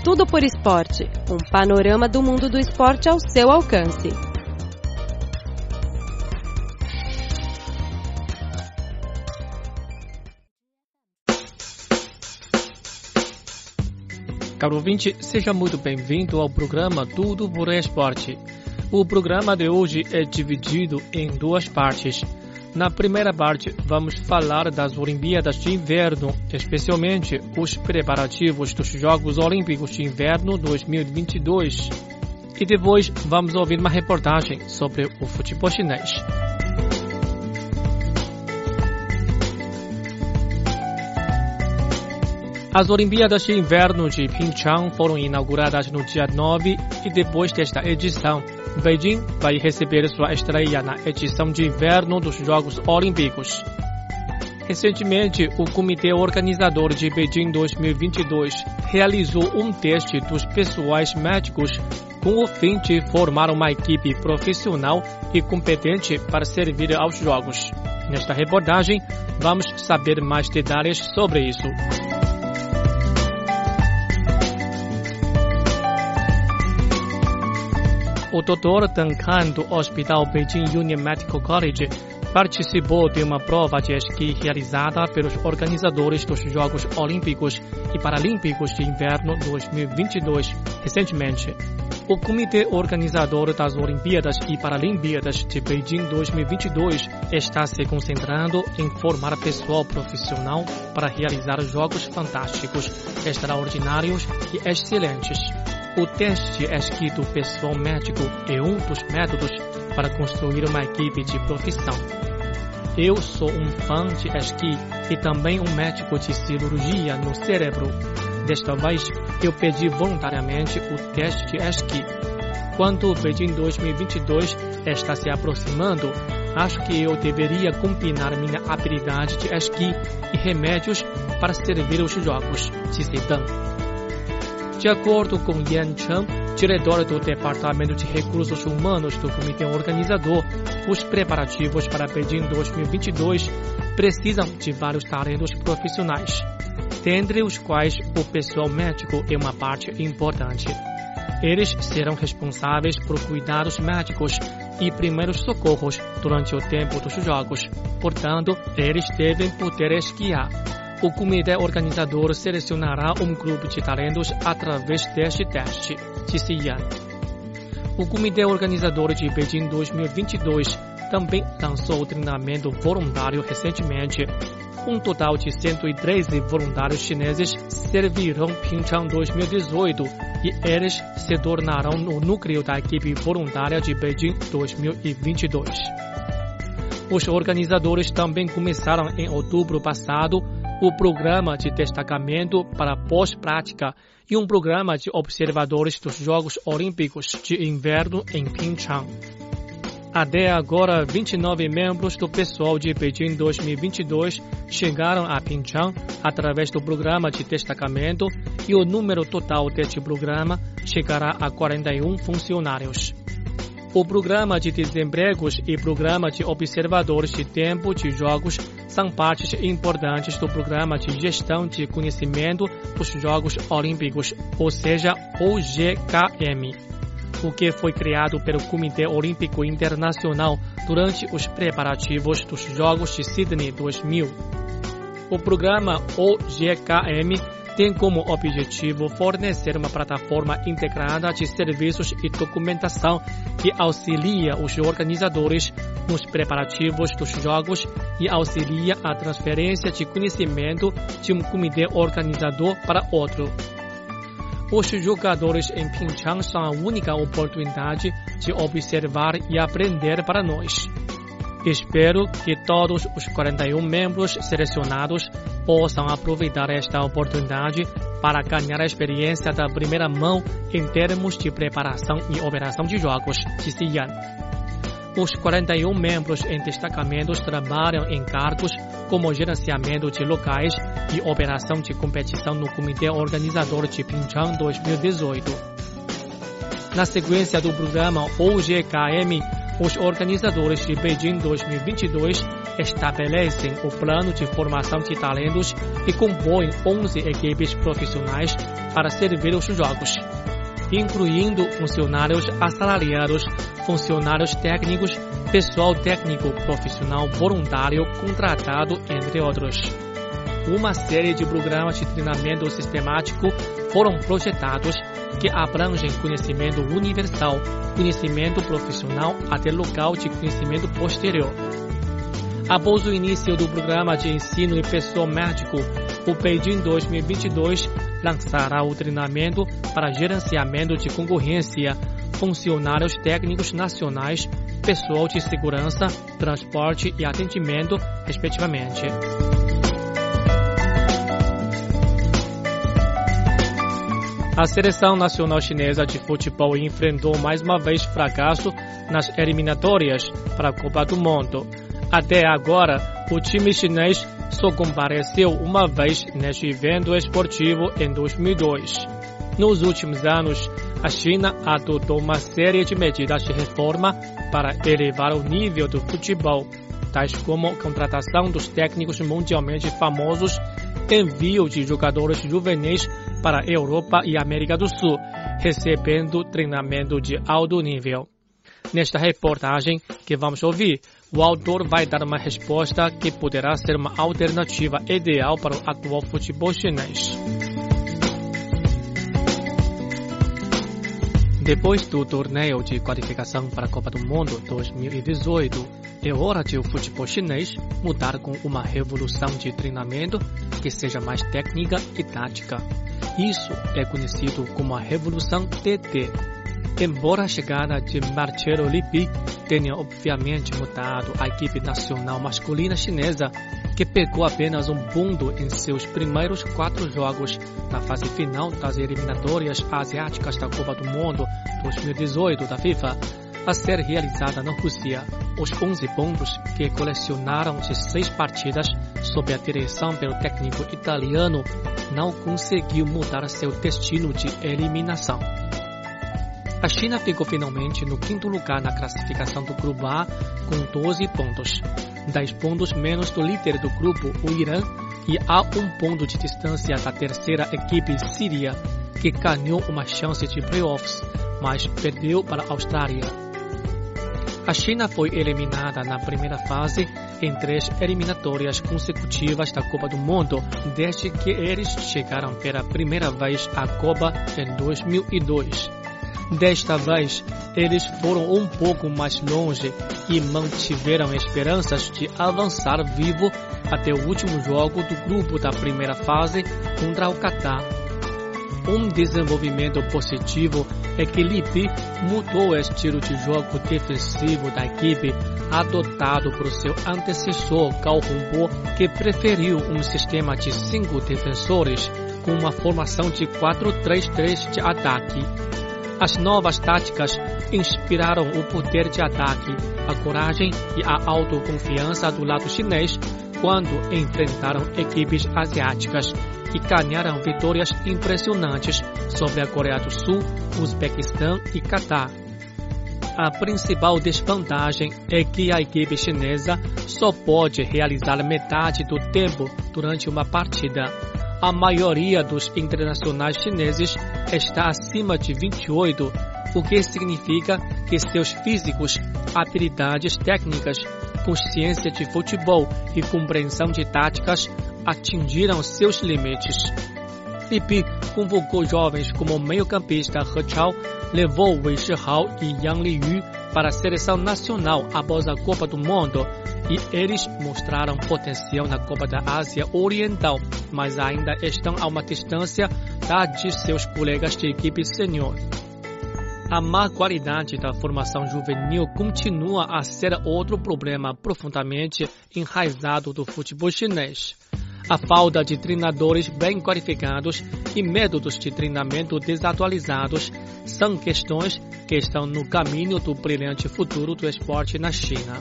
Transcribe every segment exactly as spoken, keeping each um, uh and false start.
Tudo por Esporte, um panorama do mundo do esporte ao seu alcance. Caro ouvinte, seja muito bem-vindo ao programa Tudo por Esporte. O programa de hoje é dividido em duas partes. Na primeira parte, vamos falar das Olimpíadas de Inverno, especialmente os preparativos dos Jogos Olímpicos de Inverno dois mil e vinte e dois. E depois, vamos ouvir uma reportagem sobre o futebol chinês. As Olimpíadas de Inverno de Pyeongchang foram inauguradas no dia nove e depois desta edição, Beijing vai receber sua estreia na edição de inverno dos Jogos Olímpicos. Recentemente, o Comitê Organizador de Beijing dois mil e vinte e dois realizou um teste dos pessoais médicos com o fim de formar uma equipe profissional e competente para servir aos Jogos. Nesta reportagem, vamos saber mais detalhes sobre isso. O doutor Deng Kan, do Hospital Beijing Union Medical College, participou de uma prova de esqui realizada pelos organizadores dos Jogos Olímpicos e Paralímpicos de Inverno dois mil e vinte e dois, recentemente. O Comitê Organizador das Olimpíadas e Paralimpíadas de Beijing dois mil e vinte e dois está se concentrando em formar pessoal profissional para realizar jogos fantásticos, extraordinários e excelentes. O teste de esqui do pessoal médico é um dos métodos para construir uma equipe de profissão. Eu sou um fã de esqui e também um médico de cirurgia no cérebro. Desta vez, eu pedi voluntariamente o teste de esqui. Quando o Beijing dois mil e vinte e dois está se aproximando, acho que eu deveria combinar minha habilidade de esqui e remédios para servir os jogos, disse Deng. De acordo com Yan Chen, diretor do Departamento de Recursos Humanos do Comitê Organizador, os preparativos para Beijing dois mil e vinte e dois precisam de vários talentos profissionais, dentre os quais o pessoal médico é uma parte importante. Eles serão responsáveis por cuidados médicos e primeiros socorros durante o tempo dos jogos, portanto, eles devem poder esquiar. O comitê organizador selecionará um grupo de talentos através deste teste, disse Yan. O comitê organizador de Beijing dois mil e vinte e dois também lançou o treinamento voluntário recentemente. Um total de cento e treze voluntários chineses servirão Pyeongchang dois mil e dezoito e eles se tornarão o núcleo da equipe voluntária de Beijing dois mil e vinte e dois. Os organizadores também começaram em outubro passado o programa de destacamento para pós-prática e um programa de observadores dos Jogos Olímpicos de Inverno em Pyeongchang. Até agora, vinte e nove membros do pessoal de Beijing dois mil e vinte e dois chegaram a Pyeongchang através do programa de destacamento e o número total deste programa chegará a quarenta e um funcionários. O programa de desempregos e programa de observadores de tempo de jogos são partes importantes do programa de gestão de conhecimento dos Jogos Olímpicos, ou seja, O G K M, o que foi criado pelo Comitê Olímpico Internacional durante os preparativos dos Jogos de Sydney dois mil. O programa O G K M tem como objetivo fornecer uma plataforma integrada de serviços e documentação que auxilia os organizadores nos preparativos dos jogos e auxilia a transferência de conhecimento de um comitê organizador para outro. Os jogadores em Pyeongchang são a única oportunidade de observar e aprender para nós. Espero que todos os quarenta e um membros selecionados possam aproveitar esta oportunidade para ganhar a experiência da primeira mão em termos de preparação e operação de jogos, disse Yan. Os quarenta e um membros em destacamentos trabalham em cargos como gerenciamento de locais e operação de competição no Comitê Organizador de Pyeongchang dois mil e dezoito. Na sequência do programa O G K M, os organizadores de Beijing dois mil e vinte e dois estabelecem o plano de formação de talentos e compõem onze equipes profissionais para servir os jogos, incluindo funcionários assalariados, funcionários técnicos, pessoal técnico profissional voluntário contratado, entre outros. Uma série de programas de treinamento sistemático foram projetados que abrangem conhecimento universal, conhecimento profissional até local de conhecimento posterior. Após o início do programa de ensino e pessoal médico, o Beijing dois mil e vinte e dois lançará o treinamento para gerenciamento de concorrência, funcionários técnicos nacionais, pessoal de segurança, transporte e atendimento, respectivamente. A seleção nacional chinesa de futebol enfrentou mais uma vez fracasso nas eliminatórias para a Copa do Mundo. Até agora, o time chinês só compareceu uma vez neste evento esportivo em dois mil e dois. Nos últimos anos, a China adotou uma série de medidas de reforma para elevar o nível do futebol, tais como a contratação dos técnicos mundialmente famosos, envio de jogadores juvenis para a Europa e América do Sul, recebendo treinamento de alto nível. Nesta reportagem que vamos ouvir, o autor vai dar uma resposta que poderá ser uma alternativa ideal para o atual futebol chinês. Depois do torneio de qualificação para a Copa do Mundo dois mil e dezoito, é hora de o futebol chinês mudar com uma revolução de treinamento que seja mais técnica e tática. Isso é conhecido como a Revolução T T. Embora a chegada de Marcelo Lippi tenha obviamente mudado a equipe nacional masculina chinesa, que pegou apenas um ponto em seus primeiros quatro jogos na fase final das eliminatórias asiáticas da Copa do Mundo dois mil e dezoito da FIFA, a ser realizada na Rússia. Os onze pontos que colecionaram de seis partidas sob a direção pelo técnico italiano não conseguiu mudar seu destino de eliminação. A China ficou finalmente no quinto lugar na classificação do Grupo A com doze pontos, dez pontos menos do líder do grupo, o Irã, e a um ponto de distância da terceira equipe síria, que ganhou uma chance de playoffs, mas perdeu para a Austrália. A China foi eliminada na primeira fase em três eliminatórias consecutivas da Copa do Mundo, desde que eles chegaram pela primeira vez à Copa em dois mil e dois. Desta vez, eles foram um pouco mais longe e mantiveram esperanças de avançar vivo até o último jogo do grupo da primeira fase contra o Catar. Um desenvolvimento positivo é que Lippi mudou o estilo de jogo defensivo da equipe adotado por seu antecessor Gao Hongbo, que preferiu um sistema de cinco defensores com uma formação de quatro três três de ataque. As novas táticas inspiraram o poder de ataque, a coragem e a autoconfiança do lado chinês quando enfrentaram equipes asiáticas e ganharam vitórias impressionantes sobre a Coreia do Sul, Uzbequistão e Catar. A principal desvantagem é que a equipe chinesa só pode realizar metade do tempo durante uma partida. A maioria dos internacionais chineses está acima de vinte e oito, o que significa que seus físicos, habilidades técnicas, consciência de futebol e compreensão de táticas atingiram seus limites. Lippi convocou jovens como meio-campista He Chao, levou Wei Shihao e Yang Liyu para a seleção nacional após a Copa do Mundo, e eles mostraram potencial na Copa da Ásia Oriental, mas ainda estão a uma distância da de seus colegas de equipe sênior. A má qualidade da formação juvenil continua a ser outro problema profundamente enraizado do futebol chinês. A falta de treinadores bem qualificados e métodos de treinamento desatualizados são questões que estão no caminho do brilhante futuro do esporte na China.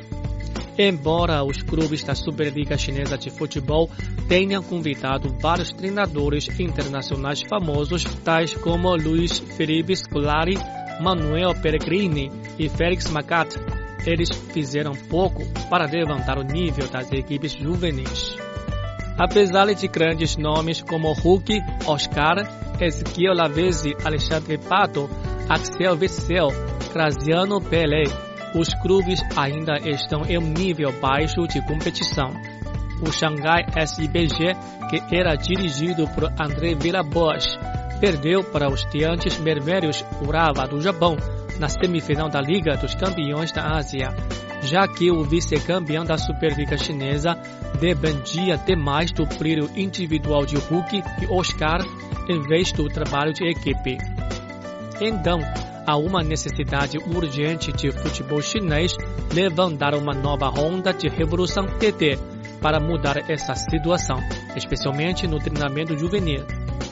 Embora os clubes da Superliga Chinesa de Futebol tenham convidado vários treinadores internacionais famosos, tais como Luiz Felipe Scolari, Manuel Pellegrini e Félix Magath, eles fizeram pouco para levantar o nível das equipes juvenis. Apesar de grandes nomes como Hulk, Oscar, Ezequiel Lavezzi, Alexandre Pato, Axel Witsel, Graziano Pelle, os clubes ainda estão em um nível baixo de competição. O Xangai S I B G, que era dirigido por André Vilas-Boas, perdeu para os Tianjin Mermérios Urawa do Japão na semifinal da Liga dos Campeões da Ásia, já que o vice-campeão da Superliga Chinesa dependia demais do brilho individual de Hulk e Oscar em vez do trabalho de equipe. Então, há uma necessidade urgente de futebol chinês levantar uma nova onda de revolução T T para mudar essa situação, especialmente no treinamento juvenil.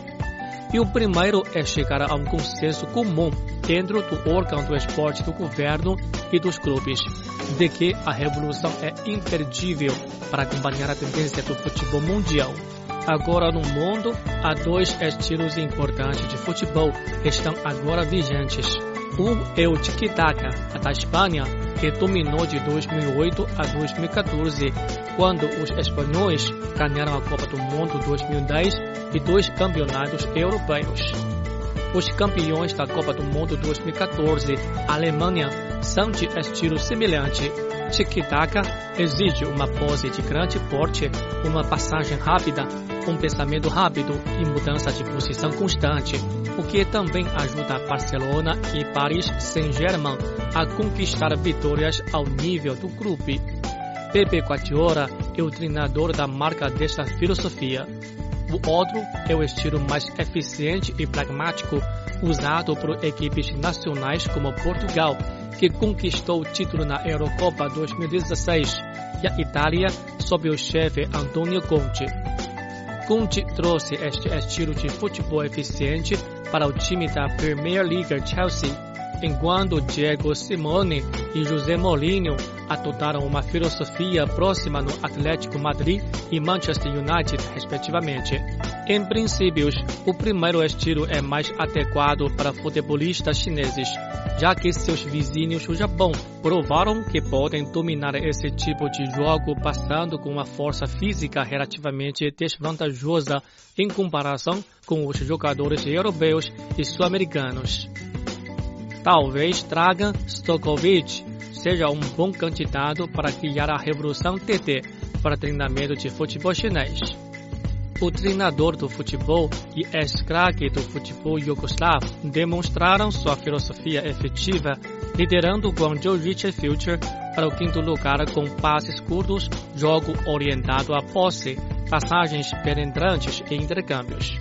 E o primeiro é chegar a um consenso comum dentro do órgão do esporte do governo e dos clubes, de que a revolução é imperdível para acompanhar a tendência do futebol mundial. Agora no mundo, há dois estilos importantes de futebol que estão agora vigentes. Um é o tiki-taka, da Espanha, que dominou de dois mil e oito a dois mil e quatorze, quando os espanhóis ganharam a Copa do Mundo dois mil e dez e dois campeonatos europeus. Os campeões da Copa do Mundo dois mil e quatorze, a Alemanha, são de estilo semelhante. Tiki-taka exige uma pose de grande porte, uma passagem rápida, um pensamento rápido e mudança de posição constante, o que também ajuda Barcelona e Paris Saint-Germain a conquistar vitórias ao nível do clube. Pepe Guardiola é o treinador da marca desta filosofia. O outro é o estilo mais eficiente e pragmático usado por equipes nacionais como Portugal, que conquistou o título na Eurocopa dois mil e dezesseis, e a Itália sob o chefe Antonio Conte. Conte trouxe este estilo de futebol eficiente para o time da Premier League Chelsea, enquanto Diego Simeone e José Mourinho adotaram uma filosofia próxima no Atlético Madrid e Manchester United, respectivamente. Em princípio, o primeiro estilo é mais adequado para futebolistas chineses, já que seus vizinhos do Japão provaram que podem dominar esse tipo de jogo passando com uma força física relativamente desvantajosa em comparação com os jogadores europeus e sul-americanos. Talvez Dragan Stojkovic seja um bom candidato para criar a revolução T T para treinamento de futebol chinês. O treinador do futebol e ex-craque do futebol iugoslavo demonstraram sua filosofia efetiva, liderando o Guangzhou Richard Future para o quinto lugar com passes curtos, jogo orientado à posse, passagens penetrantes e intercâmbios.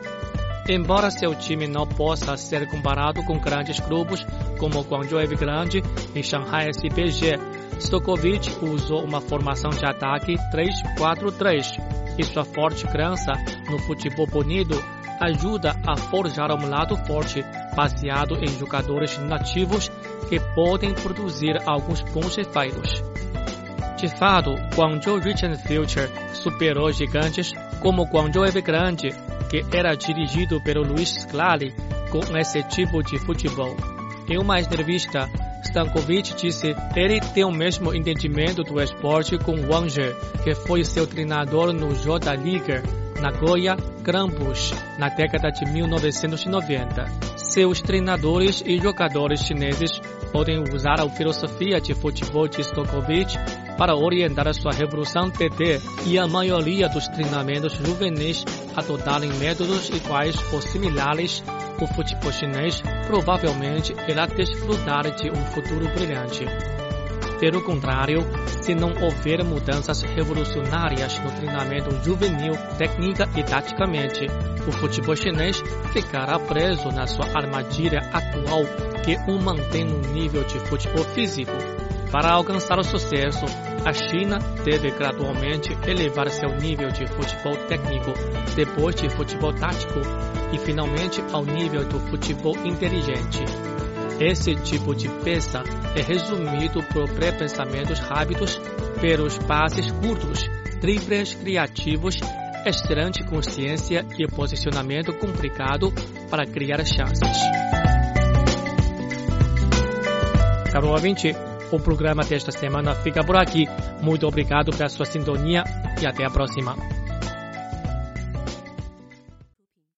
Embora seu time não possa ser comparado com grandes clubes como Guangzhou Evergrande e Shanghai S B G, Stojkovic usou uma formação de ataque três quatro três e sua forte crença no futebol bonito ajuda a forjar um lado forte baseado em jogadores nativos que podem produzir alguns bons efeitos. De fato, Guangzhou Richard Future superou gigantes como Guangzhou Evergrande, que era dirigido pelo Luiz Scolari com esse tipo de futebol. Em uma entrevista, Stankovic disse que ele tem o mesmo entendimento do esporte com Wang Zhe, que foi seu treinador no J-League Nagoya Grampus na década de mil novecentos e noventa. Seus treinadores e jogadores chineses podem usar a filosofia de futebol de Stojkovic para orientar sua revolução T T e a maioria dos treinamentos juvenis adotarem métodos iguais ou similares. O futebol chinês provavelmente irá desfrutar de um futuro brilhante. Pelo contrário, se não houver mudanças revolucionárias no treinamento juvenil, técnica e taticamente, o futebol chinês ficará preso na sua armadilha atual que o mantém no nível de futebol físico. Para alcançar o sucesso, a China deve gradualmente elevar seu nível de futebol técnico, depois de futebol tático e finalmente ao nível do futebol inteligente. Esse tipo de peça é resumido por pré-pensamentos rápidos, pelos passes curtos, dribles criativos, excelente consciência e posicionamento complicado para criar chances. Caro ouvinte, O programa desta semana fica por aqui. Muito obrigado pela sua sintonia e até a próxima.